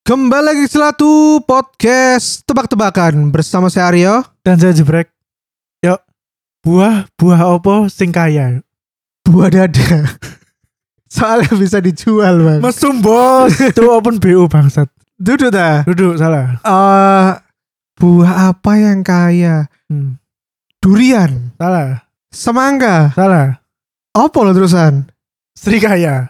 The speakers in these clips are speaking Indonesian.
Kembali lagi Selatu Podcast Tebak-tebakan bersama saya Aryo dan saya Jebrek. Yuk, buah apa sing kaya? Buah dada. Soalnya bisa dijual, Bang. Mesum bos, itu open BU bangsat. Duduk dah. Duduk salah. Buah apa yang kaya? Durian. Salah. Semangka. Salah. Apa lo terusan? Serikaya.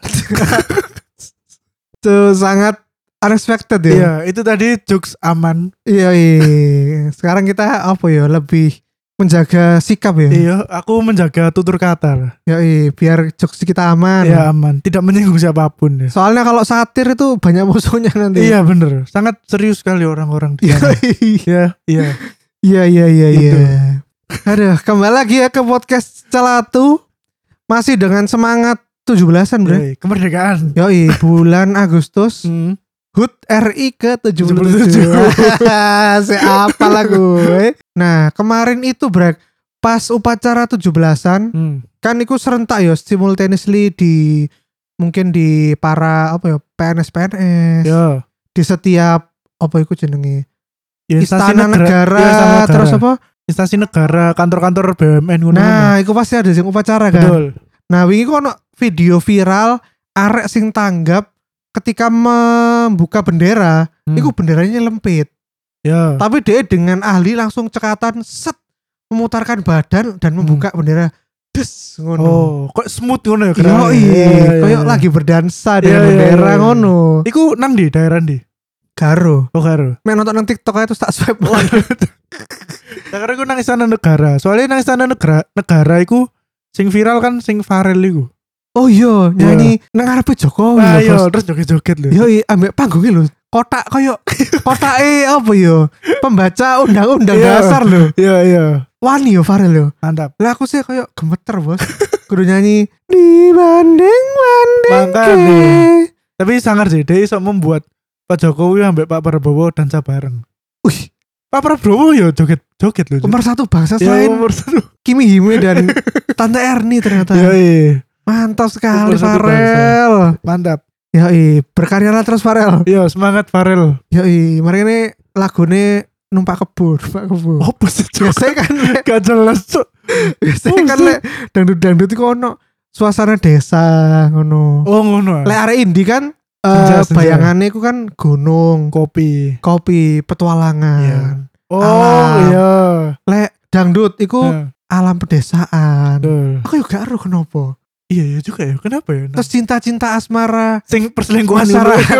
Itu sangat unexpected ya. Iya, itu tadi jokes aman. Iya. Sekarang kita apa ya? Lebih menjaga sikap ya. Iya, aku menjaga tutur kata lah. Iya, biar jokes kita aman. Iya, aman. Tidak menyinggung siapapun ya. Soalnya kalau satir itu banyak musuhnya nanti. Iya, bener. Sangat serius sekali orang-orang di sana. Iya. Iya. Aduh, kembali lagi ya ke podcast Celatu. Masih dengan semangat 17-an, Bro. Yoi, kemerdekaan. Yoi, bulan Agustus. HUT RI ke-77. Siapa lah gue. Nah, kemarin itu, Bro, pas upacara 17-an, kan itu serentak ya, simultaneously di mungkin di para apa ya, PNS. Yo. Di setiap apa itu jenenge? Ya, Istana negara, terus apa? Instansi negara, kantor-kantor BUMN ngono. Nah, itu pasti ada sing upacara kan. Betul. Nah, wingi kok ono video viral arek sing tanggap ketika membuka bendera, itu benderanya lempit. Ya. Tapi dia dengan ahli langsung cekatan set memutarkan badan dan membuka bendera. Des ngono. Oh, kok smooth ngono ya Yo, kayak lagi berdansa dengan bendera ngono. Iku nang di daerah ndi? Garo. Oh, Garo. Main nonton nang TikTok aja terus tak swipe. Nah, karena iku nang istana negara. Soalnya nang istana negara iku sing viral kan sing Farel iku. Oh iya, nyanyi nang ngarepe Jokowi Nah, lho, yo, Bos. terus joget-joget lho. Yo, ambek panggungnya lho. Kotak koyo apa yo? Pembaca undang-undang Iya. dasar lho. Iya. Wani yo Farel yo. Mantap. Lah aku sih koyo gemeter, Bos. Kudu nyanyi dibanding-banding. Makanya. Tapi sangar sih, dia iso membuat Pak Jokowi ambek Pak Prabowo dansa bareng. Wih, Pak Prabowo yo joget lho. nomor satu bangsa Ya, selain nomor satu. Kimi Hime dan Tante Erni ternyata. Iya. Mantap sekali Nomor satu Farel. Mantap. Yoi, berkaryalah terus Farel. Yo, semangat Farel. Yoi, mari ini lagune numpak kebun. Apa sih? Biasanya kan Gak jelas, Cuk. biasanya kan lek dangdut iku ono suasana desa ngono. Oh, ngono. Lek arek indie kan Senja. bayangannya iku kan gunung, Kopi. petualangan. Oh, Alam. iya. Lek dangdut iku alam pedesaan. Betul. Aku juga karo kenapa. Iya juga ya. Kenapa ya? Terus cinta-cinta asmara. Sing perselingkuhan Masyarakat.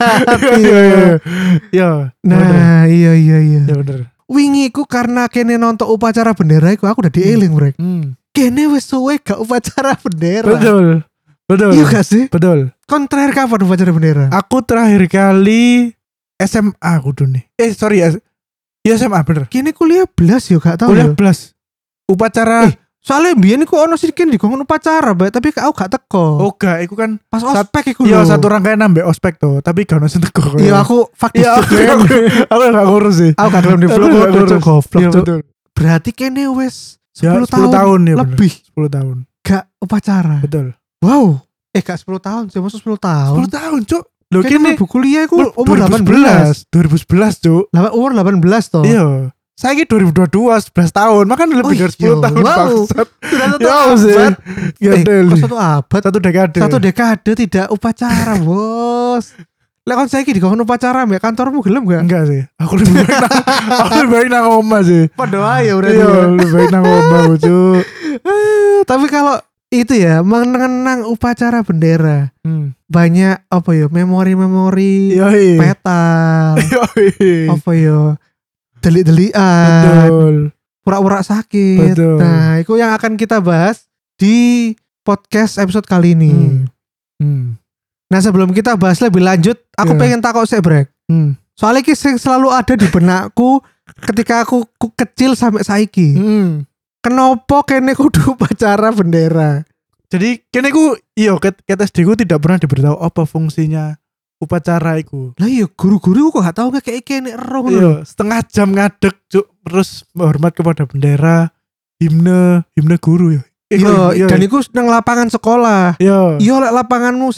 Iya. Nah, iya. Ya bener. Wingi iku karena kene nonton upacara bendera iku aku udah dieling, Brek. Kene wis suwe gak upacara bendera. Betul. Iya gak sih? Betul. Kon terakhir kapan upacara bendera? Aku terakhir kali SMA kudu nih. Iya SMA bener. Kini kuliah belas yo gak tau Kuliah yo. belas. Upacara. Soalnya mbiyen iku ono sih dikon upacara, Mbak, tapi aku gak teko. Oh gak, iku kan Pas ospek iku iya lho. satu rangkaian nambah ospek tuh, tapi gak ono sing teko. Iya aku faktis Iya, aku gak ngurus sih. Aku gak gelem di vlog Aku gak kok ngurus. goblok. Iya Cuk. betul. Berarti kene wis Ya, 10 10 tahun ya bener. lebih 10 tahun. gak upacara. Betul. Wow. Gak 10 tahun, cuma 10 tahun. 10 tahun, Cuk. Loh Kene kene mlebu kuliah iku umur 18. 2011, Cuk. Umur 18 toh. Iya. Saya ini 2022, 11 tahun. Makanya lebih dari 10 tahun. Wow. Bangsat. Sudah satu Ya, abad. sih. Gadel. Kok satu abad? Satu dekade. Satu dekade tidak upacara, Bos. Lek kon saiki dikon upacara mbek kantormu gelem gak? Enggak sih. Aku lebih baik nang omah sih. Padha ae berarti. Iya, lebih baik nang omah, Cuk. Tapi kalau itu ya mengenang upacara bendera, banyak apa ya memori-memori Yoi. petal, Yoi. apa ya delik-delikan, Betul. pura-pura sakit. Betul. Nah, itu yang akan kita bahas di podcast episode kali ini. Nah, sebelum kita bahas lebih lanjut, aku Iya. pengen takut sih, Brek. Soalnya ini selalu ada di benakku ketika aku kecil sampai saiki. Kenapa kene kudu upacara bendera? Jadi kene ku iya ket SD ku tidak pernah diberitahu apa fungsinya upacara iku. Lah iya guru-guru kok gak tau kayak kene ero ngono. Iya, setengah jam ngadeg, Cuk, terus menghormat kepada bendera, himne guru ya. Iya, dan iku nang lapangan sekolah. Iya. Iya lek lapanganmu sing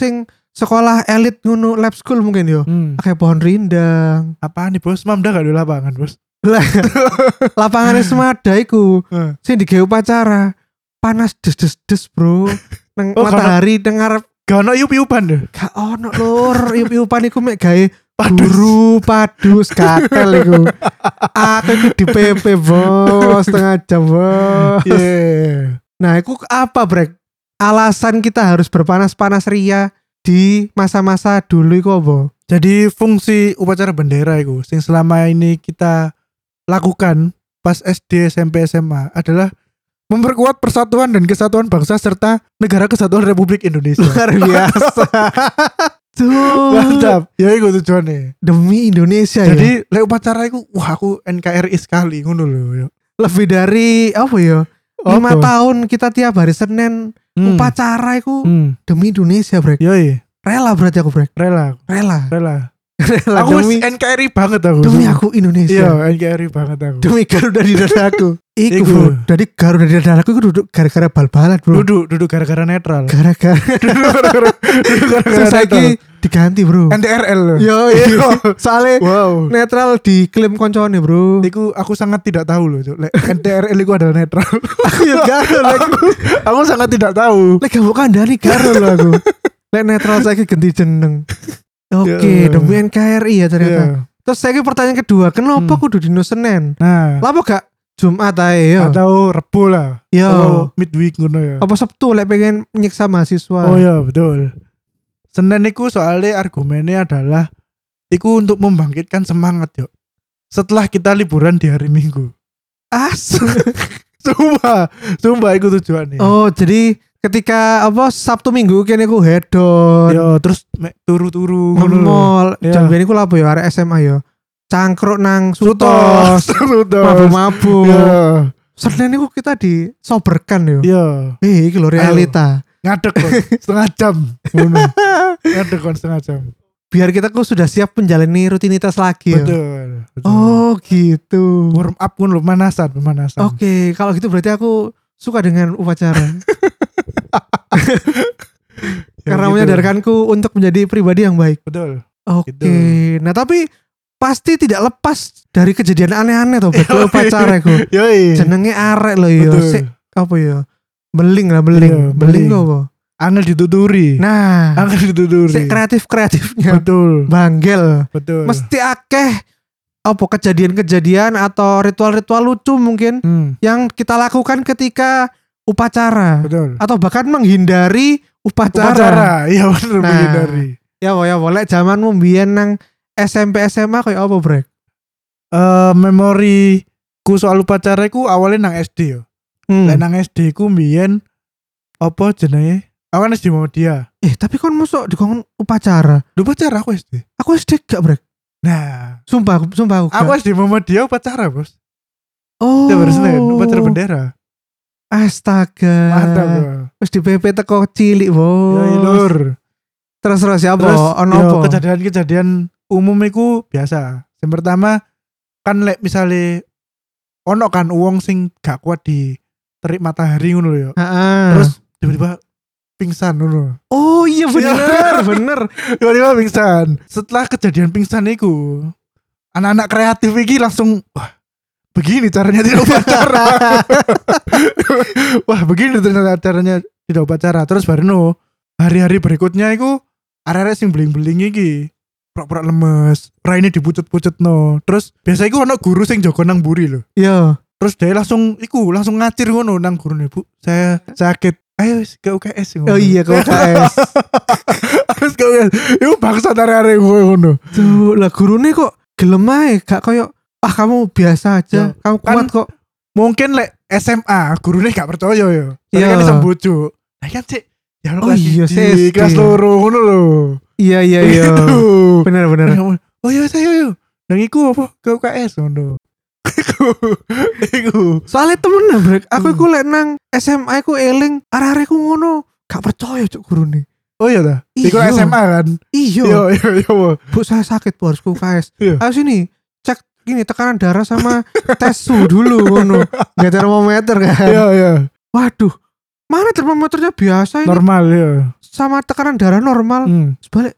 sekolah elit ngono lab school mungkin yo. Kayak pohon rindang. Apaan nih bos? Mamda gak ada lapangan bos? Lapangannya semada iku. Sing digawe upacara. Panas des bro. Nang matahari dengar gak ono iup-iupan deh. Gak ono lur, iup-iupan iku mek gawe guru padus katel iku. Aku iku di PP bos, setengah jam bos. Yeah. Nah, iku apa brek? Alasan kita harus berpanas-panas ria di masa-masa dulu iku apa? Jadi fungsi upacara bendera iku sing selama ini kita lakukan pas SD, SMP, SMA adalah memperkuat persatuan dan kesatuan bangsa serta negara kesatuan Republik Indonesia. Luar biasa. Tuh. Mantap. Ya iku tujuannya. Demi Indonesia. Jadi lek upacara iku wah aku NKRI sekali ngono lho. Lebih dari apa ya? 5 tahun kita tiap hari Senin upacara iku demi Indonesia, Brek. Yoi. Rela berarti aku, Brek. Rela. Aku demi NKRI banget aku. Demi aku Indonesia. Iya, NKRI banget aku. Demi Garuda di dadaku. Iku, bro. Jadi Garuda di dadaku iku duduk gara-gara bal-balan, bro. Duduk gara-gara netral. Gara-gara saiki diganti, bro. NTRL loh. Yo, soalnya netral diklaim koncone, bro. Iku aku sangat tidak tahu loh, Cuk. NTRL iku adalah netral. Aku ya garo aku sangat tidak tahu. Lek gak bukan dari garo loh aku. Lek netral saiki ganti jeneng. Oke, demi NKRI ya ternyata. Terus saya pertanyaan kedua, kenapa kudu dino Senin? Nah, lapa gak Jumat ae yo? Atau Rebo lah. Yo, midweek ngono ya. Apa Sabtu lek pengen nyiksa mahasiswa? Oh iya, betul. Senin iku soalnya argumennya adalah iku untuk membangkitkan semangat yo. Setelah kita liburan di hari Minggu. Sumpah iku tujuannya. Oh, jadi ketika apa Sabtu Minggu kene ku hedon. Yo, terus turu-turu nge-mall. Jambene ku lapo yo arek SMA yo. Cangkruk nang Sutos. Mabuk-mabuk. Senin niku kita disoberkan yo. Iya. Iki lho realita. Ngadeg kon setengah jam. Ngono. Ngadeg kon setengah jam. Biar kita ku sudah siap menjalani rutinitas lagi ya. Betul. Oh gitu. Warm up pun pemanasan. Oke, kalau gitu berarti aku suka dengan upacara. Karena gitu. Menyadarkanku untuk menjadi pribadi yang baik. Betul. Oke. Gitu. Nah tapi pasti tidak lepas dari kejadian aneh-aneh tuh betul upacara ku. Jenenge arek loh yo. Apa ya? Beling apa? Angel dituturi. Nah, angel dituturi. Kreatifnya. Betul. Banggel. Betul. Mesti akeh apa kejadian-kejadian atau ritual-ritual lucu mungkin yang kita lakukan ketika upacara. Betul. Atau bahkan menghindari upacara. Iya benar menghindari. Ya boleh zaman mbiyen nang SMP SMA kayak apa, Brek? Memori ku soal upacara ku awalnya nang SD yo. Nang SD ku mbiyen apa jenenge? Aku kan SD Muhammadiyah. Tapi kon mosok dikon upacara. Upacara aku SD. Aku SD gak, Brek. Nah, sumpah aku gak. Aku SD Muhammadiyah upacara, Bos. Oh. Upacara bendera. Astaga. Mantap, Bro. Wis di PP teko cilik, Bos. Ya lur. Terus siapa? Ono apa? Kejadian umum iku biasa. Yang pertama kan lek misale ono kan wong sing gak kuat di terik matahari ngono lho ya. Terus tiba-tiba pingsan ngono. Oh iya bener. Tiba-tiba pingsan. Setelah kejadian pingsan iku, anak-anak kreatif iki langsung wah, begini caranya tidak upacara. Wah, begini ternyata caranya tidak upacara. Terus baru hari-hari berikutnya iku arek-arek sing beling-beling iki pura-pura lemes, raine dipucut-pucut no. Terus biasa iku ono guru sing jaga nang mburi lho. Iya. Terus dia langsung ngacir ngono nang gurune, Bu. Saya sakit. Ayo ke UKS ngono. Oh iya ke UKS. Harus ke UKS. Iku bangsa arek-arek ngono. Tuh, lah gurune kok gelem ae, gak koyo kamu biasa aja, kamu kuat kan, kok. Mungkin lek SMA gurune gak percaya ya. Soalnya kan iso bojo. Lah kan sik ya oh iya sih kelas loro ngono lho. Iya. Bener. Oh iya saya nang iku apa ke UKS ngono. Iku. Soalnya temen Brek, aku iku lek nang SMA iku eling arek-arek ku ngono, gak percaya cuk gurune. Oh iya ta? Iku SMA kan? Iya. Bu saya sakit harus ke UKS. Ayo sini, cek gini tekanan darah sama tes suhu dulu ngono. Gak termometer kan? Iya. Waduh, mana termometernya biasa ini? Normal ya. sama tekanan darah normal. Balik.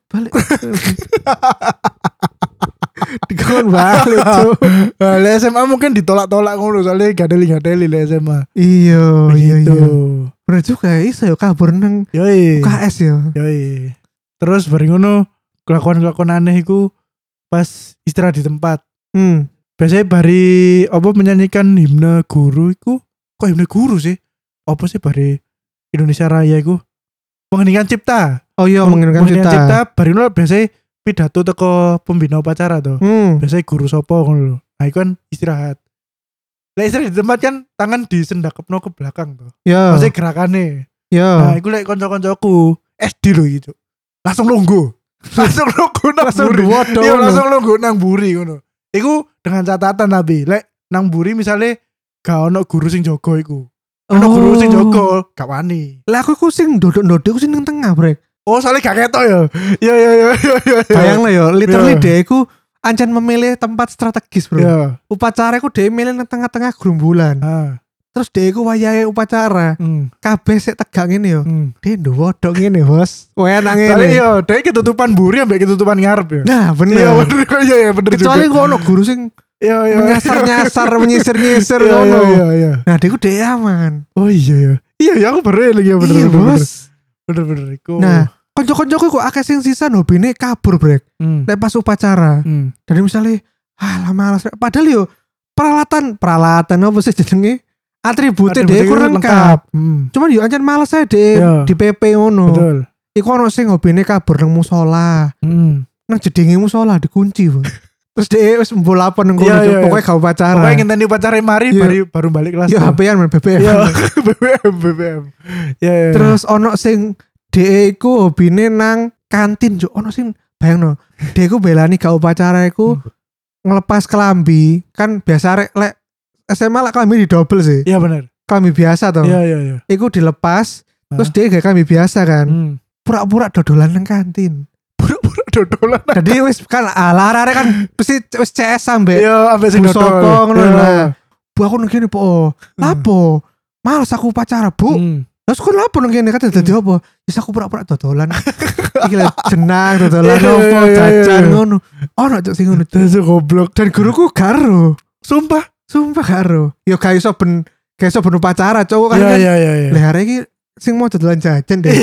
Dikon balik tuh. Le SMA mungkin ditolak-tolak ngono soalnya gadeli le SMA. Iya. Bener juga iso yo kabur nang UKS yo. Yoi. Terus bareng ngono kelakuan aneh iku pas istirahat di tempat. Biasanya bari menyanyikan himne guru iku. Kok himne guru sih? Apa sih bari Indonesia Raya iku? Mengeningkan cipta. Oh iya, mengeningkan cipta. Bari ngono biasanya pidato teko pembina upacara tuh. Biasanya guru sopo ngono lho. Nah, iku kan istirahat. Lah istirahat di tempat kan tangan disendakepno ke belakang tuh. Ya. Maksudnya gerakannya. Ya. Nah, iku lek kanca-kancaku SD lho gitu. Langsung lungguh nang buri ngono. Iku dengan catatan tapi lek nang buri misalnya gak ono guru sing jaga iku. Ono guru sing jaga gak wani. Lah aku sing ndodok-ndodok sing nang tengah, Brek. Oh, soalnya gak ketok ya. Iya. Bayang lah ya, literally dia iku ancen memilih tempat strategis, Bro. Upacara iku dia milih nang tengah-tengah gerombolan. Terus dia iku wayahe upacara. Kabeh sik tegang ngene yo. Dia ndodok ngene, Bos. Enak ngene. Soale yo, dia ketutupan buri ambek ketutupan ngarep ya. Nah, bener. Iya, bener juga. Kecuali kok ono guru sing menyasar menyisir ngono. Iya. Nah, dia ku aman. Oh iya. Iya, aku baru lagi bener. Iya, Bos. Bener iku. Nah, konco-koncoku kok akeh sing sisa hobine kabur, Brek. Lek pas upacara. Dari misalnya malas. Padahal yo peralatan apa sih jenenge? Atributnya dia kurang lengkap. Cuman yo ancen males ae di PP ngono. Betul. Iku ono sing hobine kabur nang musola. Nang jedenge musola dikunci, Bang. Terus dia wis mbolapan nang kono pokoknya gak upacara. Pokoknya ngenteni upacara mari baru balik kelas. Yo HP-an men BBM. BBM. Terus ono sing dhek iku hobine nang kantin yo ono sing bayangno. Dhek iku belani gak upacara iku ngelepas kelambi. Kan biasa lek SMA lah klambi di double sih. Iya benar. Klambi biasa toh. Iya. Iku dilepas, terus dia gak klambi biasa kan. Pura-pura dodolan nang kantin. Dodolan. Jadi wis kan arek kan mesti wis CS sampe. Iya, ampe sing dodol. Ngono lah. Bu aku nang kene po. Lapo? Males aku upacara, Bu. Terus kok lapo nang kene kate dadi apa? Wis aku pura-pura dodolan. Iki lho jenang dodolan opo jajan ngono. Ono cuk sing ngono. Dasar goblok. Dan guruku karo. Sumpah karo. Yo gak iso ben upacara cowok kan. Iya. Lah hari iki sing mau dodolan jajan deh.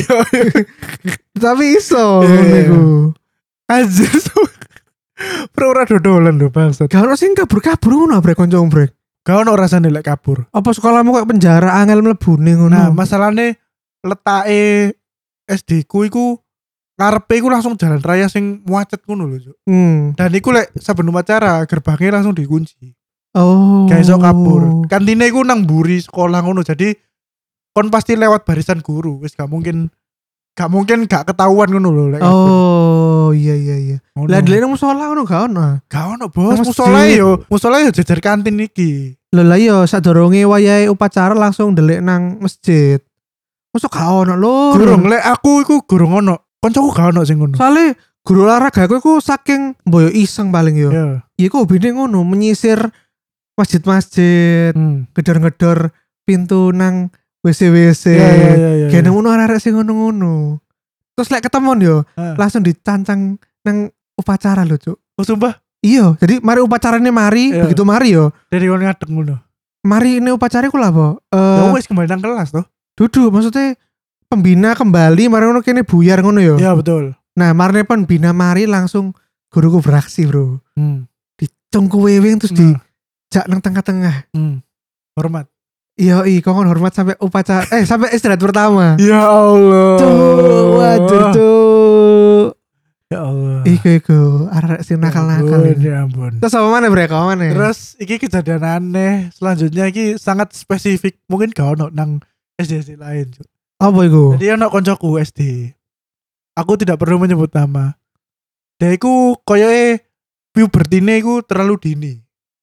Tapi iso niku. Anjir. Pura-pura dodolan lho bangsat. Gak ono sing kabur-kabur ngono brek kanca brek. Gak ono rasane lek kabur. Apa sekolahmu kayak penjara angel mlebune ngono. Nah, masalahnya letake SD ku iku ngarepe iku langsung jalan raya sing macet ngono lho, Cuk. Dan iku lek saben upacara gerbangnya langsung dikunci. Oh. Gak iso kabur. Kantine iku nang mburi sekolah ngono. Jadi kon pasti lewat barisan guru. Wis gak mungkin gak ketahuan ngono lho lek. Oh, iya. Lah dhewe nang musola ngono gak ono. Gak ono, Bos. Musola yo jejer kantin iki. Lho lah yo sadurunge wayahe upacara langsung ndelik nang masjid. Mosok gak ono lho. Gurung lek aku iku gurung ono. Koncoku gak ono sing ngono. Soale guru olahraga aku iku saking mboyo iseng paling yo. Iya. Iku hobine ngono menyisir masjid-masjid, ngedor-ngedor pintu nang WC. Iya. Kene ngono arek sing ngono-ngono. Terus lek ketemu yo, langsung dicancang nang upacara lho, Cuk. Oh, sumpah? Iya, jadi mari upacarane begitu mari yo. Dari ngono ngadeg ngono. Mari ini upacara ku lah, apa? Ya wis kembali nang kelas toh. Duduk, maksudnya pembina kembali mari ngono kene buyar ngono yo. Iya, betul. Nah, marine pembina mari langsung guruku beraksi, Bro. Dicongku wewing terus dijak nang tengah-tengah. Hormat. Iya, kon hormat sampai upacara sampai istirahat pertama. Ya Allah. Waduh, Cuk. Ya Allah. Iku arek sing nakal-nakal. Ya ampun. Terus apa mana brek? Terus iki kejadian aneh. Selanjutnya iki sangat spesifik. Mungkin gak ono nang SD lain, Cuk. Apa iku? Jadi ono koncoku SD. Aku tidak perlu menyebut nama. Dia iku koyoke pubertine iku terlalu dini.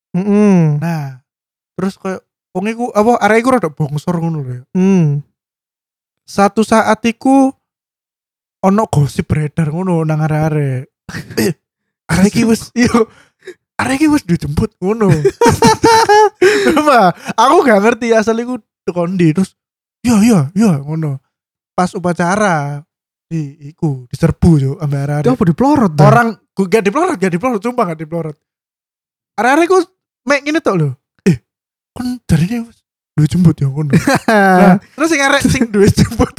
Nah, terus koyo wong iku arek iku rada bongsor ngono lho. Satu saat iku ono gosip beredar ngono nang arek-arek. Arek iki wis dijemput ngono. Kenapa? Aku gak ngerti asal iku kondi terus. Ya ngono. Pas upacara diserbu yo ambek arek-arek. Apa diplorot dah? Orang gak diplorot, sumpah gak diplorot. Arek-arek ku mek ngene tok lho. Kon jarine wis duwe jembut ya ngono. Nah, terus sing arek sing duwe jembut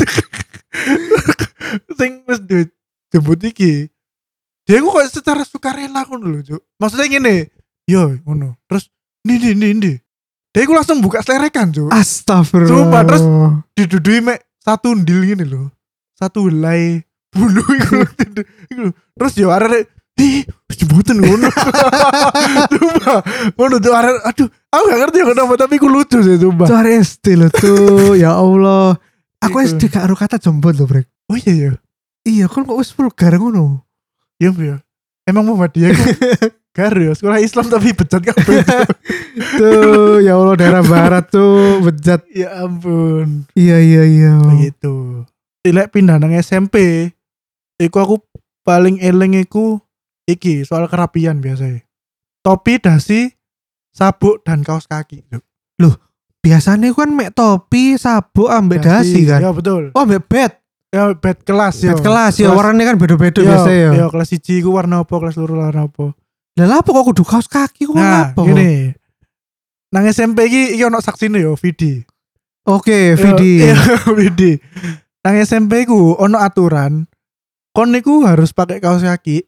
sing wis duwe jembut iki dia ku kok secara sukarela ngono lho, Cuk. Maksudnya ngene, yo ngono. Terus ndi. Dia ku langsung buka selerekan, Cuk. Astagfirullah. Sumpah, terus didudui mek satu ndil ngene lho. Satu helai bulu iku. Terus yo arek jembutan ngono. Sumpah. Ngono tuh arek, aduh, aku gak ngerti kenapa tapi ku lucu sih sumpah. Itu hari SD loh tuh. Ya Allah. Aku SD gak ada kata jembut loh, Brek. Oh iya. Iya, kan kok wis vulgar ngono. Iya, emang Muhammadiyah ku garu ya, sekolah Islam tapi bejat kabeh. Tuh, ya Allah daerah barat tuh bejat. Ya ampun. Iya. Begitu. Ilek pindah nang SMP, iku aku paling eling iku iki soal kerapian biasanya. Topi, dasi, sabuk dan kaos kaki. Loh, biasanya kan mek topi, sabuk, ambek dasi kan. Ya betul. Oh, ambek bed. Ya bed kelas ya. Bed kelas ya, warnanya kan beda-beda biasa ya. Ya kelas 1 ku warna apa, kelas 2 warna apa. Lah apa kok kudu kaos kaki kok apa? Gini. Nang SMP iki ono saksine yo, Vidi. Oke, Vidi. Iya, Vidi. Nang SMP ku ono aturan kon niku harus pakai kaos kaki.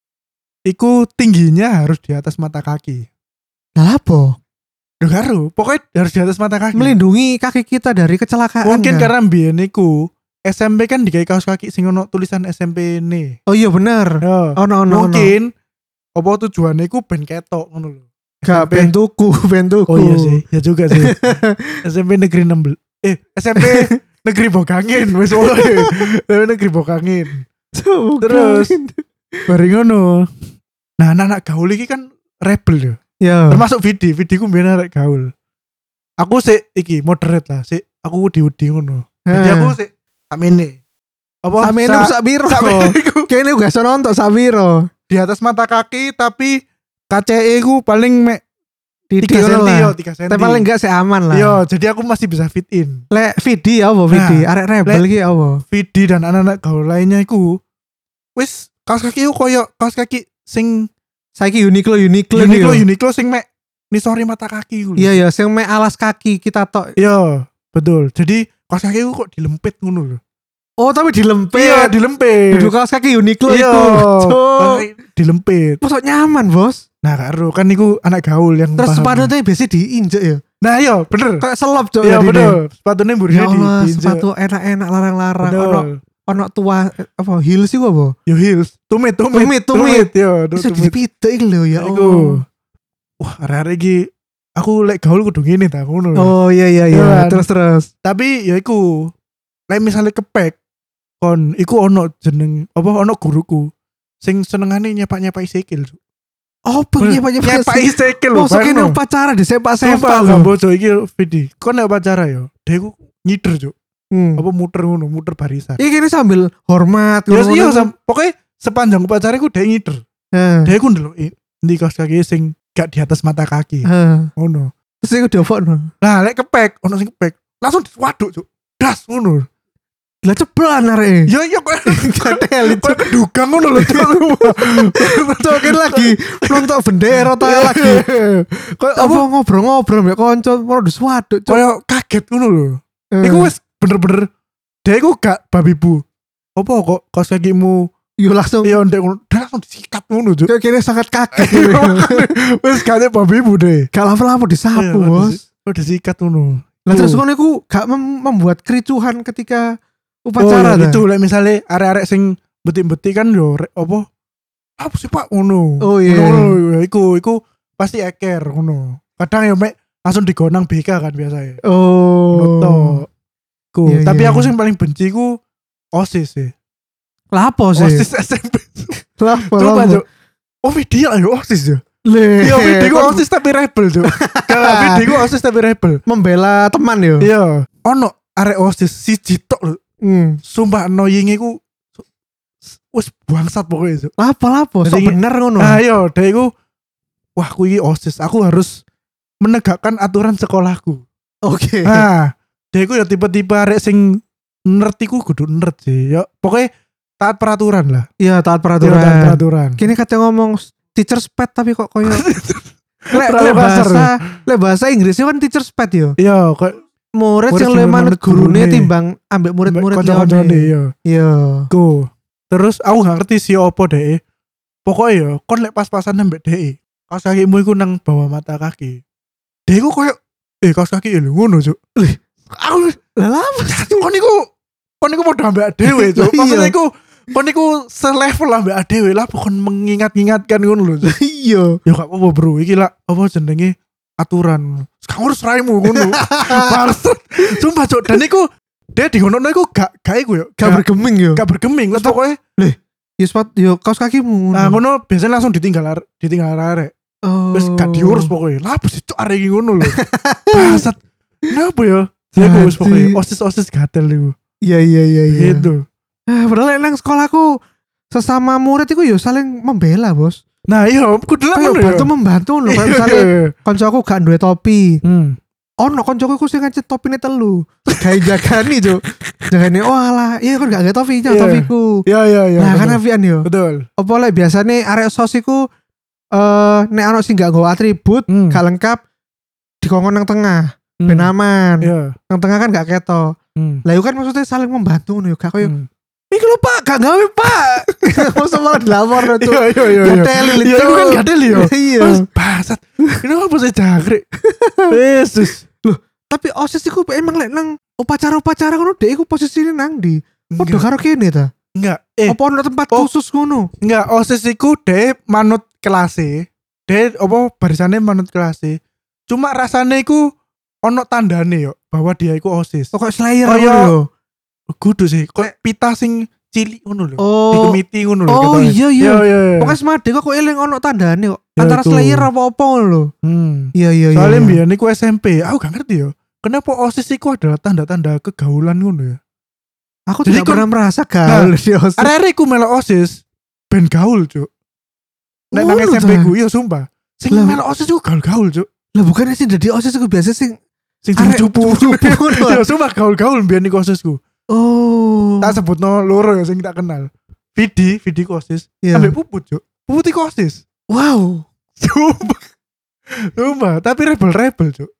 Iku tingginya harus di atas mata kaki. Lah apa? Dengaru, pokoknya harus di atas mata kaki. Melindungi kaki kita dari kecelakaan. Mungkin karena mbiyen niku SMP kan digawe kaos kaki sing ono tulisan SMP ne. Oh iya bener. Ono. Mungkin apa tujuannya iku ben ketok ngono lho. Gak ben tuku. Oh iya sih, ya juga sih. SMP negeri 16. SMP negeri Bokangin wis wae. Negeri Bokangin. Terus bareng ngono. Nah, anak gaul iki kan rebel ya. Ya. Termasuk Vidi ku mbiyen arek gaul. Aku sik iki moderate lah, sik aku udi ngono. Jadi aku sik amene. Apa? Samene sak biro. Kene gak iso nonton sak biro. Di atas mata kaki tapi KCE ku paling mek 3 cm. Tapi paling enggak aman lah. Yo, jadi aku masih bisa fit in. Lek Vidi apa Vidi? Arek rebel iki apa? Vidi dan anak-anak gaul lainnya iku wis kaos kaki ku koyo kaos kaki sing saiki Uniqlo sing mek nisori mata kaki ku. Iya, sing mek alas kaki kita tok. Iya, betul. Jadi kaos kaki ku kok dilempit ngono lho. Oh, tapi dilempit. Iya, dilempit. Duduk kaos kaki Uniqlo iya, itu. Dilempit. Masuk nyaman, Bos. Nah, karo kan niku anak gaul yang terus sepatunya biasa diinjek ya. Nah, iya, bener. Kayak selop, Cok. Iya, bener. Sepatunya burine diinjek. Sepatu enak-enak larang-larang. Ono tua apa heels iku apa? Yo heels. Tumit. Yo, bisa dipitik lho ya. Iku. Wah, arek-arek iki aku lek gaul kudu ngene ta ngono. Oh iya. Terus. Tapi ya iku lek misalnya kepek kon iku ono jeneng apa ono guruku sing senengane nyepak-nyepak sikil. Oh, nyepak sikil lho. Mosok kene upacara disepak-sepak lho. Bojo iki Vidi. Kon nek upacara yo, dheku nyider, Cuk. Apa muter barisan. Iki sambil hormat ngono. Iya, pokoknya sepanjang upacara iku dhek nyider. Dheku ndeloki ndi kaos kaki sing gak di atas mata kaki. Ngono. Terus iku diopokno. Nah, lek kepek, ono sing kepek, langsung waduk, Cuk. Das ngono. Lah ceplan arek. Ya kok gatel itu kedugang ngono lho. Cokin lagi nonton bendera ta lagi. Kok apa ngobrol-ngobrol mbek kanca mau diswaduk. Kayak kaget ngono lho. Iku wis bener-bener dia iku gak babi bu. Apa kok kaos kakimu yo langsung yo ndek ngono, langsung disikat ngono, Cuk. Kayak kene sangat kaget. Wis gak babi bu deh. Gak lama-lama disapu, Bos. Udah disikat ngono. Lah terus ngono iku gak membuat kericuhan ketika upacara itu lek misale arek-arek sing beti-beti kan yo apa sih Pak ngono. Oh iya. Iku pasti eker ngono. Kadang yo mek langsung digonang BK kan biasanya. Oh. Iya, tapi aku sing paling benci ku OSIS sih. Lah apa sih? OSIS SMP. Lah apa? Oh video ayo OSIS ya. Iya video OSIS tapi rebel tuh. Kalau video OSIS tapi rebel. Membela teman yo. Iya. Ono arek OSIS si Citok lho. Sumpah annoying iku wis bangsat pokoknya itu. Lapo sok bener ngono. Nah yo dhek iku wah aku iki OSIS, aku harus menegakkan aturan sekolahku. Oke. Nah, dhek iku ya tipe-tipe arek sing nerd iku kudu nerd sih. Ya pokoknya taat peraturan lah. Iya, taat Iya, peraturan. taat peraturan. Kini katanya ngomong teacher's pet tapi kok koyo Terlalu kasar, lek bahasa Inggrisnya kan teacher's pet yo. Iya, kok Murid Murid yang sing le manut manut gurune. gurune timbang ambek murid-murid kanca-kancane liyane. iya. Iya. Go. Terus aku gak ngerti sih opo deh. Pokoknya ya, kon lek pas-pasan ambek deh. Kaos kakimu iku nang bawah mata kaki. Deh iku koyo kaos kaki lho ngono, Cuk. Aku Lah apa? kon iku padha ambek dhewe, Cuk. Lah iya. Maksudnya iku kon iku selevel ambek dhewe lah, pokon mengingat-ingatkan ngono lho, Cuk. Iya. Ya gak apa-apa, Bro. Iki lah apa jenenge aturan. Sekarang urus raimu ngono. Bangsat. Sumpah, Cuk. Dan iku dia di ngono iku gak iku yo. Gak bergeming yo. Gak bergeming. Terus pokoknya Yo sepatu yo kaos kakimu. nah ngono biasanya langsung ditinggal arek. Oh. Terus gak diurus pokoknya. Lah apa sih, Cuk, arek iki ngono lho. Bangsat. Kenapa ya? Ya aku wis pokoknya osis gatel iku. Iya. Gitu. Padahal nang sekolahku sesama murid iku yo saling membela, Bos. Nah, iya, kudu lah Kayak ngono ya. bantu-membantu lho. Kayak misalnya koncoku gak duwe topi. Ono koncoku iku sing ngecet topine telu. Gawe jagani, Cuk. Jagani, oh alah, iya kan gak gawe topi, Iya. topiku. Iya. Nah, kan betul. apian yo. Betul. Apa lek biasane arek sos iku nek ono sing gak nggawa atribut, gak lengkap dikongkon nang tengah, ben aman. Iya. Nang tengah kan gak keto. Lah iku kan maksudnya saling membantu ngono yo, gak koyo iki lho Pak, gak gawe Pak. Mosok malah dilapor Cuk. Iya. Gatel, Iya, itu kan gatel yo. Iya. Bangsat. Ini apa sih jangkrik? Yesus. Tapi OSIS iku emang lek nang upacara-upacara ngono dhek iku posisine nang ndi? Padha karo kene ta? Enggak. Apa ono tempat khusus ngono? Enggak, OSIS iku dhek manut kelase. Dhek apa barisane manut kelase. Cuma rasane iku ono tandane yo bahwa dia iku OSIS. Kok Slayer Oh, ngono iya. lho. Kudu sih, kok pita sing cilik ngono lho. Oh. Di kemiti ngono lho. Oh katanya. iya. Iya. Pokoknya semade kok eling ono tandane kok. Ya, Antara itu. Slayer apa-apa ngono lho. Iya. Soalnya mbiyen iku SMP, aku gak ngerti yo. Kenapa OSIS iku adalah tanda-tanda kegaulan ngono ya? Aku Jadi tidak pernah merasa gaul di OSIS. Arek-arek ku melok OSIS ben gaul, Cuk. Nek nang Ngono SMP ta? ku iya sumpah. Sing Lah. melok OSIS ku gaul-gaul, Cuk. Lah bukannya sih dadi OSIS iku biasa sing Sing arek cupu. cupu ngono. Ya sumpah gaul-gaul mbiyen iku OSISku. Oh. Tak sebutno loro ya sing tak kenal. Vidi ku OSIS. Iya. Ambek Puput, Cuk. Puput iku OSIS. Wow. Sumpah, tapi rebel, Cuk.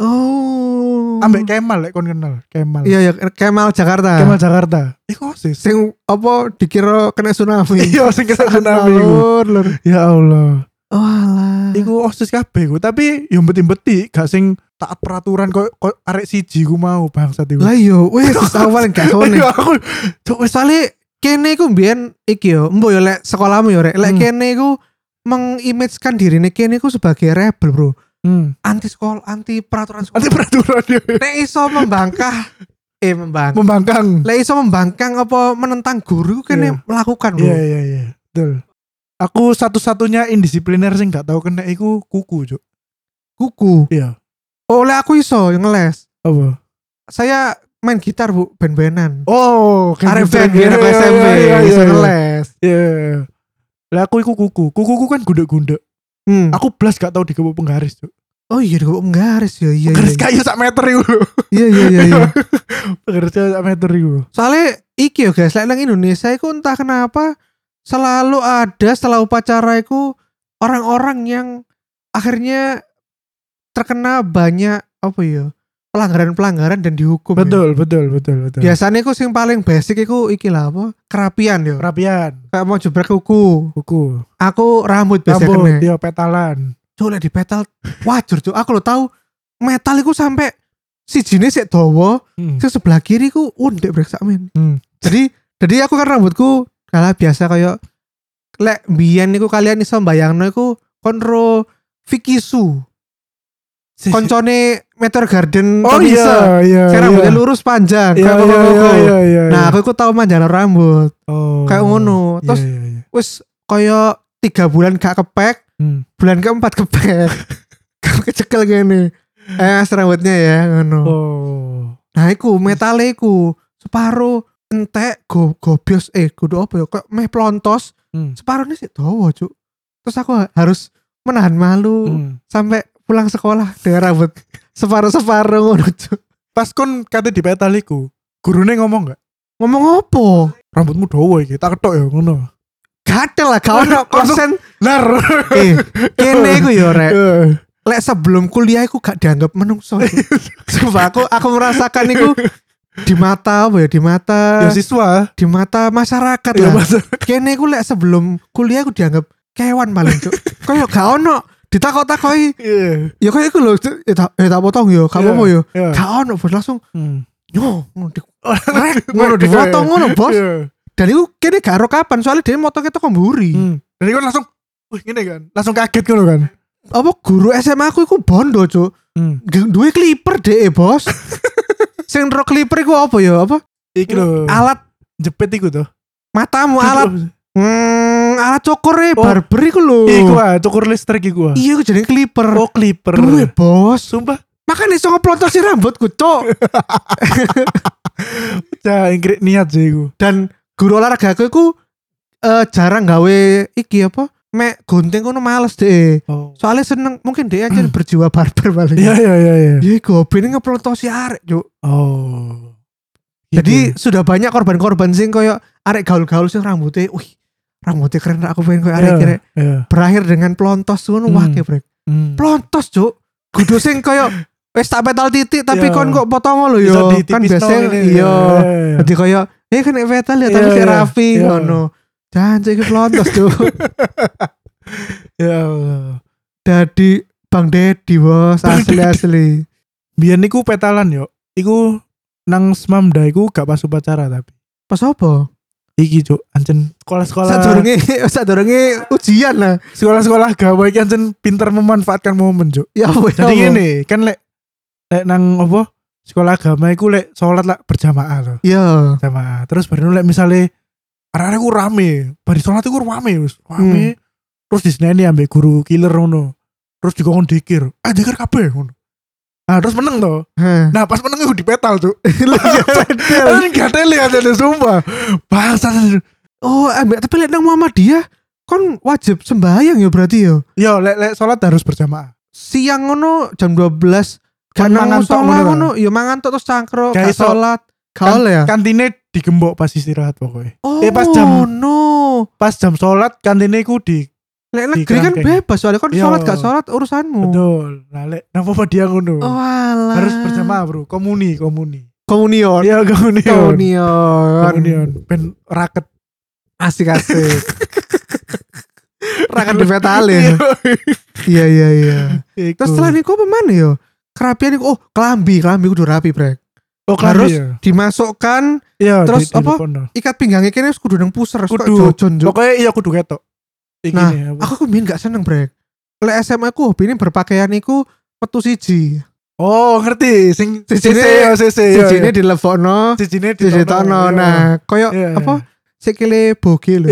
Oh. Ambek Kemal lek kon kenal, Kemal. Iya Kemal Jakarta. Kemal Jakarta. Iku OSIS. Sing apa dikira kena tsunami. Iya, sing kena tsunami iku. Lur. Ya Allah. Oh alah. Iku OSIS kabeh ku, tapi yo beti-beti gak sing taat peraturan kok arek siji ku mau bangsat iku. Lah yo wis awal gak sone. Iya, aku Cuk, wis Soale kene iku mbiyen iki yo, mbok yo lek sekolahmu yo rek, lek kene iku mengimagekan dirine kene iku sebagai rebel, Bro. Anti sekolah, anti peraturan sekolah. anti peraturan ya. Nek iso Membangkang. Lek iso membangkang apa menentang guru kene Iya. melakukan, Bro. Iya. Betul. Aku satu-satunya indisipliner sing gak tahu kena iku kuku, Cuk. Kuku. Iya. Oh, lek aku iso ngeles. Apa? Saya main gitar, Bu, ben-benan. Oh, Arek band gitu. biar aku SMP iso ngeles. Iya. Lah aku iku kuku. Kukuku kan gundek-gundek. Aku blas gak tau digepuk penggaris, Cuk. Oh iya kok menggaris ya. Iya. Penggaris kayu sak meter iku lho. Iya. Penggaris kayu sak meter iku. Soalnya iki yo guys, lek nang Indonesia iku entah kenapa selalu ada setelah upacara iku orang-orang yang akhirnya terkena banyak apa ya pelanggaran-pelanggaran dan dihukum. Betul. Biasanya iku sing paling basic iku iki lah apa? Kerapian yo. Kerapian. Kayak mau jebrek kuku. Aku rambut biasanya Rambut, kena. dia petalan. Cuk lek di petal wajar cuk. Aku lo tahu metal iku sampai sijine sik dawa, sing sebelah kiri ku undek brek sakmen. Jadi aku kan rambutku kalah biasa kayak lek mbiyen niku kalian iso mbayangno iku konro Vikisu. Koncone Meteor Garden Oh iya. Saya rambutnya lurus panjang kayak koko. Iya. Nah, aku tahu manjano rambut. Oh. Kayak ngono. Terus wis kayak 3 bulan gak kepek, bulan keempat kepek. Kecekel gini. Rambutnya ya ngono. Oh. Nah, iku metale iku separuh entek gobios kudu apa ya kok meh plontos. Separuhnya sih dawa, Cuk. Terus aku harus menahan malu sampai pulang sekolah dengan rambut separuh ngono, Cuk. Pas kon kate di petal iku, gurune ngomong gak? Ngomong apa? rambutmu dawa iki, tak ketok ya ngono. Gatel lah, gak ono konsen lar. Kene iku ya rek. Lek sebelum kuliah iku gak dianggap menungso. Sumpah aku merasakan iku di mata apa ya, di mata ya siswa, di mata masyarakat ya, lah. Kene iku lek sebelum kuliah aku dianggap kewan paling cuk. Kayak gak ono ditakok-takoki. Ya kayak iku lho, tak potong yo, gak apa-apa yo. Gak ono bos langsung. Yo, ngono dipotong ngono bos. Dan itu kene gak ero kapan soalnya dia motongnya toko mburi. Dan itu langsung gini kan, langsung kaget ngono kan. Apa guru SMA aku iku bondo cuk. Duwe clipper deh bos. Sing ro clipper iku apa ya? Apa? Iki lho. Alat jepit iku tuh. Matamu alat. Alat cukur barber iku lho. Iku cukur listrik iku. Iya iku jenenge clipper. Oh, clipper. Duwe bos. Sumpah. Makanya iso ngeplotosi rambutku cuk. Ingkrik niat sih iku. Dan guru olahraga aku iku jarang gawe iki apa? Mek gunting kono males deh. Soalnya seneng mungkin dia aja berjiwa barber paling. Iya. Iya hobine ngeplotosi arek, Cuk. Oh. Jadi sudah banyak korban-korban sing koyo arek gaul-gaul sing rambutnya keren aku pengen koyo arek kira. Berakhir dengan plontos ngono wake, Brek. Plontos, Cuk. Kudu sing koyo wis tak petal titik tapi kon kok potong lho yo. Kan biasa iya. Dadi koyo kan petal ya tapi kayak rapi ngono. Jangan iki plontos tuh. Ya Allah. Dadi Bang Dedi bos asli. Biyen niku petalan yo. Iku nang Smamda iku gak pas upacara tapi. Pas apa? Iki cuk, ancen sekolah-sekolah. Sadurunge ujian lah. Sekolah-sekolah gawe iki ancen pinter memanfaatkan momen cuk. Ya jadi ngene, kan lek nang apa? Sekolah agama iku lek salat lah berjamaah loh. Iya. Jamaah. Terus baru lek misale arek-arek ku rame, bari salat iku rame wis. Rame. Terus diseneni ambek guru killer ngono. Terus dikon dikir, dikir kabeh ngono. Nah, terus meneng toh. Nah, pas meneng iku dipetal, Cuk. Gatel ya jadi sumpah. Bangsat. Oh, tapi lek nang Muhammadiyah kon wajib sembahyang ya berarti ya. Yo, lek salat harus berjamaah. Siang ngono jam 12 kan mangan tok ngono, ya mangan tok terus cangkruk, gak salat. Kaol ya. Kantine digembok pas istirahat pokoknya. Oh, pas jam salat kantine iku di lek negeri kan bebas soalnya kan salat gak salat urusanmu. Betul. Nah lek nang dia ngono. Oh, alah. Harus berjamaah, Bro. Komunion. Iya, komunion. Ben raket asik-asik. Raket di petalin. Iya. Terus setelah niku apa mana yo? Kerapian niku kelambi kudu rapi, Brek. Oh, harus dimasukkan terus apa ikat pinggangnya kene kudu nang puser kudu pokoknya iya kudu ketok. Nah aku biyen gak seneng Brek. Lek SMA aku hobine berpakaian iku metu siji. Oh ngerti sing sijine dilebokno sijine ditokno. Nah koyo apa sikile boge lho.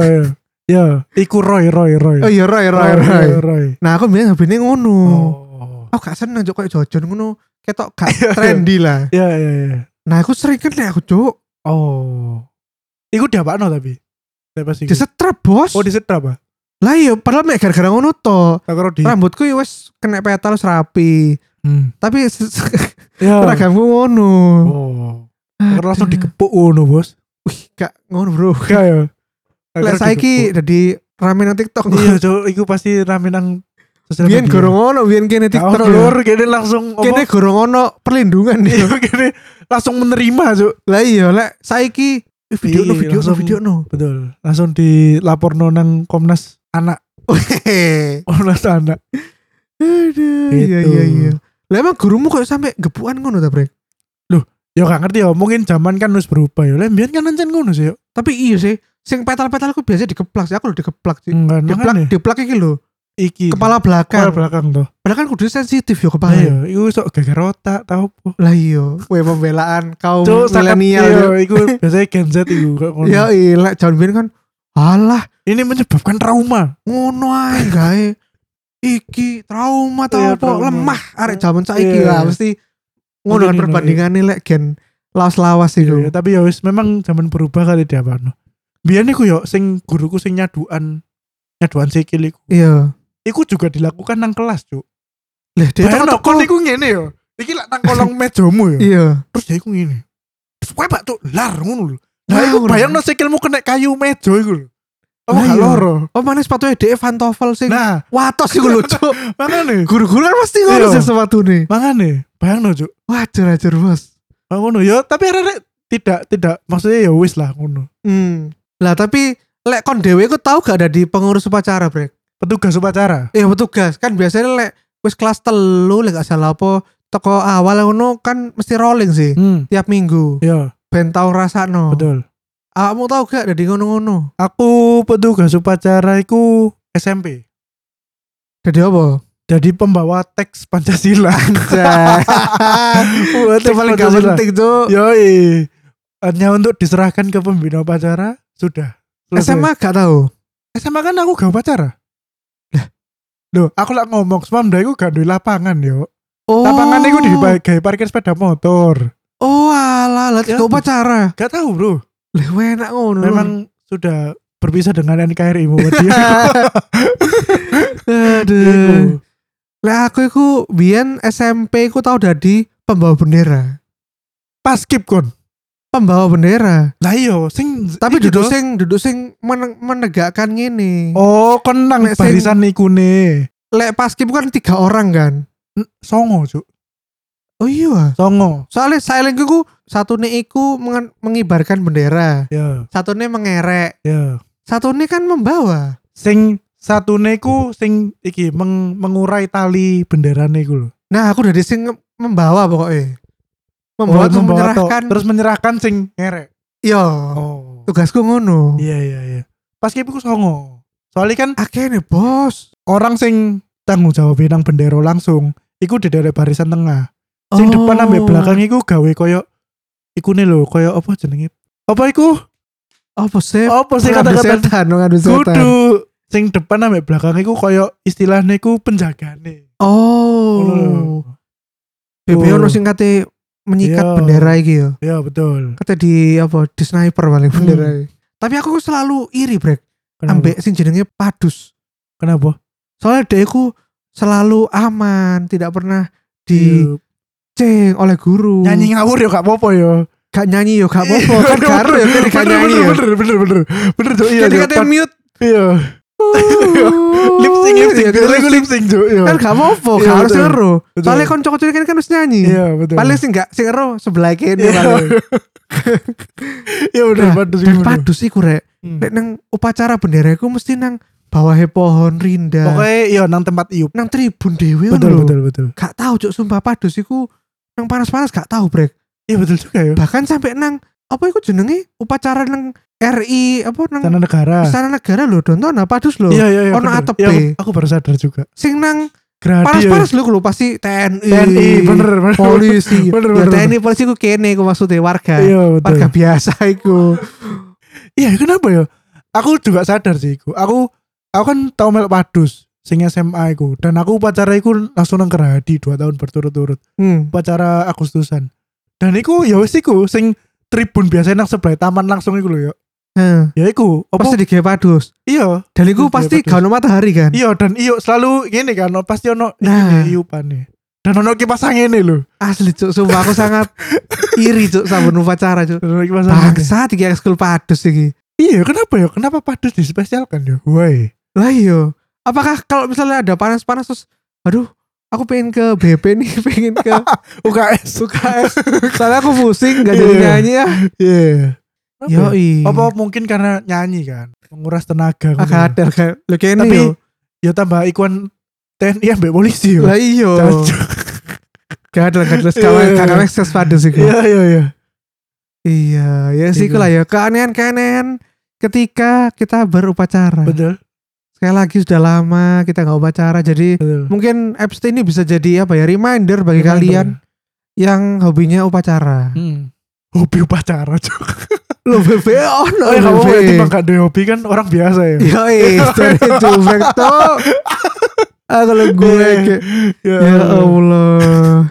Iya iku Roy. Oh iya Roy. Nah aku biyen hobine ngono. Aku gak seneng koyo jojon ngono. Ketok gak trendy lah. Iya. Nah aku sering kan aku cuk. Oh. Iku diapakno tapi. Disetrap bos. Oh disetrap ah. Lah iya padahal mek gara-gara ngono to. Rambutku wis kena petal wis rapi. Tapi seragamku ngono. Oh. Langsung dikepuk ngono bos. Wih gak ngono bro. Gak ya. Lah saiki dadi rame nang TikTok. Iya cuk iku pasti rame nang biyen gorong ono biyen kene TikTok lur kene langsung kene gorong ono perlindungan iya kene langsung menerima cuk. Lah iya lek saiki video no betul langsung dilaporno nang Komnas Anak. Komnas Anak. Aduh iya. Lah emang gurumu kok sampe gepukan ngono ta Brek? Loh ya gak ngerti ya mungkin zaman kan wis berubah ya. Lah mbiyen kan ancen ngono sih yo. Tapi iya sih sing petal-petal aku biasa dikeplak sih aku lho dikeplak sih. Diplak iki lho. Iki kepala belakang tuh. Padahal kan kudu sensitif yo kepala. Iya, iku sok geger otak tau po. Lah iya, pembelaan kaum milenial iku biasanya Gen Z iku kok ngono. Ya iya, jangan biyen kan alah, ini menyebabkan trauma. Ngono ae gawe. Iki trauma tau po lemah arek zaman saiki lah mesti ngono kan perbandingane lek gen lawas-lawas iku. Iya, tapi ya wis memang zaman berubah kali diapano. Biyen iku yo sing guruku sing nyaduan sikil iku. Iya. Iku juga dilakukan nang kelas, Cuk. Lah, dia kon iku ngene yo. Iki lak nang kolong mejamu yo. Iya. Terus dia iku ngene. Terus kowe Pak Cuk, lar ngono lho. Nah, iku bayangno sikilmu kena kayu meja iku lho. Oh, Lah gak iya. loro. Oh, mana sepatunya DE Van Toffel sing Nah, watos iku lho, Cuk. makane. Guru-guru kan pasti ngono Iya. sih sepatune. Makane, bayangno, Cuk. Wajar Bos. Ngono ya, tapi arek tidak maksudnya ya wis lah ngono. Lah tapi lek kon dhewe iku tau gak ada di pengurus upacara, Brek? Petugas upacara. Iya petugas kan biasanya lek wis kelas 3 lek gak salah apa toko awal ngono kan mesti rolling sih tiap minggu. Iya, Ben tau rasakno. betul. Awakmu tau gak ada di ngono-ngono? Aku petugas upacara iku SMP. Jadi apa? Jadi pembawa teks Pancasila. Wah, Itu paling gak penting tuh. Yoi. Hanya untuk diserahkan ke pembina upacara sudah. Selesai. SMA gak tahu. SMA kan aku gak upacara. Loh, aku lak ngomong semamda iku gak duwe lapangan yo. Oh. Lapangan iku digawe parkir sepeda motor. Oh alah, lah Ya. gak upacara. Gak tahu, Bro. Lah enak ngono. Memang sudah berpisah dengan NKRI Muhammadiyah. Aduh. Lah aku iku biyen SMP iku tau dadi pembawa bendera. Paskib kon. Pembawa bendera. Lah iya, sing Tapi iki duduk toh. sing menegakkan ngene. Oh, kenang Nek sing- barisan niku ne. Lek paskib kan 3 orang kan. Songo, Cuk. Oh iya. Songo. Soalnya silent iku satune iku mengibarkan bendera, Ya, satune mengerek, ya. satune kan membawa. Sing satune ku sing iki mengurai tali benderane iku lho. Nah, aku dari sing membawa pokoknya. Membawa terus membawa menyerahkan. terus menyerahkan sing ngerek. Iya. Oh. Tugasku ngono. Iya, iya, iya. Pas iku songo. Soalnya kan Akeh nih, Bos. orang sing tanggung jawab nang bendera langsung iku di daerah barisan tengah. Sing depan ambek belakang iku gawe koyo iku nih lho, koyo apa jenenge? Apa iku? Apa sih? Apa sih Ngadu kata-kata? setan, ngadu setan. Kudu sing depan ambek belakang iku koyo istilahnya iku penjagane. Ngono lho. BB ono sing kate menyikat Iya. bendera iki ya. Ya betul. Kate di apa? Di sniper paling bendera iki. Tapi aku selalu iri, Brek. Kenapa? Ambek sing jenenge Padus. Kenapa? Soalnya dia iku selalu aman, tidak pernah Iya. diceng oleh guru. Nyanyi ngawur ya gak apa-apa ya. Gak nyanyi yo, gak apa-apa. Kan karo ya kan gak nyanyi yo. Bener Cuk, iya. Kan Cuk. dikatain mute. Iya. Lip sync Iya, Lagu lip sync Cuk, iya. Kan gak apa-apa, Iya, gak harus betul. ero. Betul. Soalnya konco-konco kan harus nyanyi. Iya betul. Paling sing gak sing ero sebelah kene Iya. paling. Iya bener Nah, Padus Dan iku. Padus iku rek. Nek nang upacara bendera iku mesti nang bawahnya pohon rinda. Pokoknya iya nang tempat iup. Nang tribun dhewe Betul ngono lho. betul betul. Gak tahu cuk sumpah Padus iku nang panas-panas gak tahu Brek. Iya betul juga ya. Bahkan sampai nang apa iku jenenge upacara nang RI apa nang Sana negara. Istana Negara lho Donton Padus lho. Iya iya iya. Ono bener. atepe. Iya, aku baru sadar juga. Sing nang Gradi. panas-panas lho pasti TNI. TNI bener bener. Polisi. Bener, Ya bener, TNI polisi ku kene ku maksudnya warga. Iya betul. Warga biasa iku. Iya kenapa ya? Aku juga sadar sih iku. Aku kan tau melok Padus sing SMA iku dan aku upacara iku langsung nang Gerhadi 2 tahun berturut-turut. Upacara Agustusan. Dan iku ya wis iku sing tribun biasa nang sebelah taman langsung iku lho ya. Ya iku apa? Pasti digawe Padus. Iya. Dan iku Digawe pasti Padus. gak ono matahari kan. Iya dan iyo selalu gini kan pasti ono Nah. iupane. Dan ono kipas angin lho. Asli cuk, sumpah aku sangat iri cuk sabun upacara cuk. Dan ono kipas angin. Bangsa iki ekskul Padus iki. Iya kenapa ya? Kenapa Padus dispesialkan ya? Woi. Lah iya. Apakah kalau misalnya ada panas-panas terus aduh, aku pengen ke BP nih, pengen ke UKS. UKS. Soalnya aku pusing gak jadi Iya. nyanyi ya. Iya. Yoi. Apa mungkin karena nyanyi kan? Menguras tenaga. Agak ada kan. Lo kene Tapi yo. ya tambah ikon TNI ambek polisi yo. Lah iya. Gak ada Iya. kakak ekskul Padus iku. Iya iya iya. Iya, ya sih Iku. lah ya keanehan-keanehan ketika kita berupacara. Betul. Sekali lagi sudah lama kita nggak upacara, jadi Betul. mungkin episode ini bisa jadi apa ya reminder bagi kalian yang hobinya upacara. Hobi upacara Cuk. Lo BB ono Oh ya kamu BB. berarti bang gak ada hobi kan orang biasa ya. Yoi, dari jubrek tuh. Kalau gue kayak ya Allah.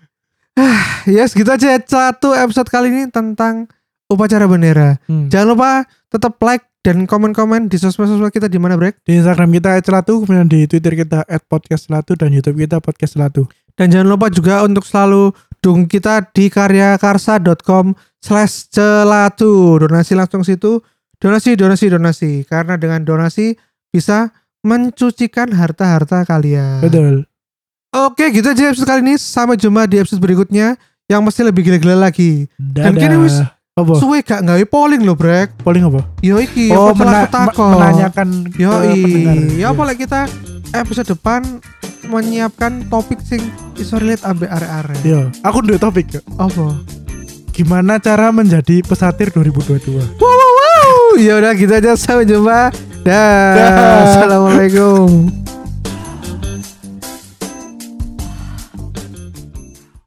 Ya segitu aja satu episode kali ini tentang upacara bendera. Jangan lupa tetap like dan komen-komen di sosmed-sosmed kita di mana Brek. Di Instagram kita @celatu, kemudian di Twitter kita @podcastcelatu dan YouTube kita podcast celatu. Dan jangan lupa juga untuk selalu dukung kita di karyakarsa.com/celatu. Donasi langsung situ. Donasi. Karena dengan donasi bisa mencucikan harta-harta kalian. Betul. Oke, gitu aja episode kali ini. Sampai jumpa di episode berikutnya yang mesti lebih gila-gila lagi. Dadah. Dan kini wis apa? Suwe gak nggawe polling lho, Brek. Polling apa? Yo iki menanyakan yo pendengar. ya apa lek kita episode depan menyiapkan topik sing iso relate ambek arek-arek. Yo, aku duwe topik yo. Apa? Gimana cara menjadi pesatir 2022? Wow. Ya udah gitu aja, sampai jumpa. Dah. Assalamualaikum.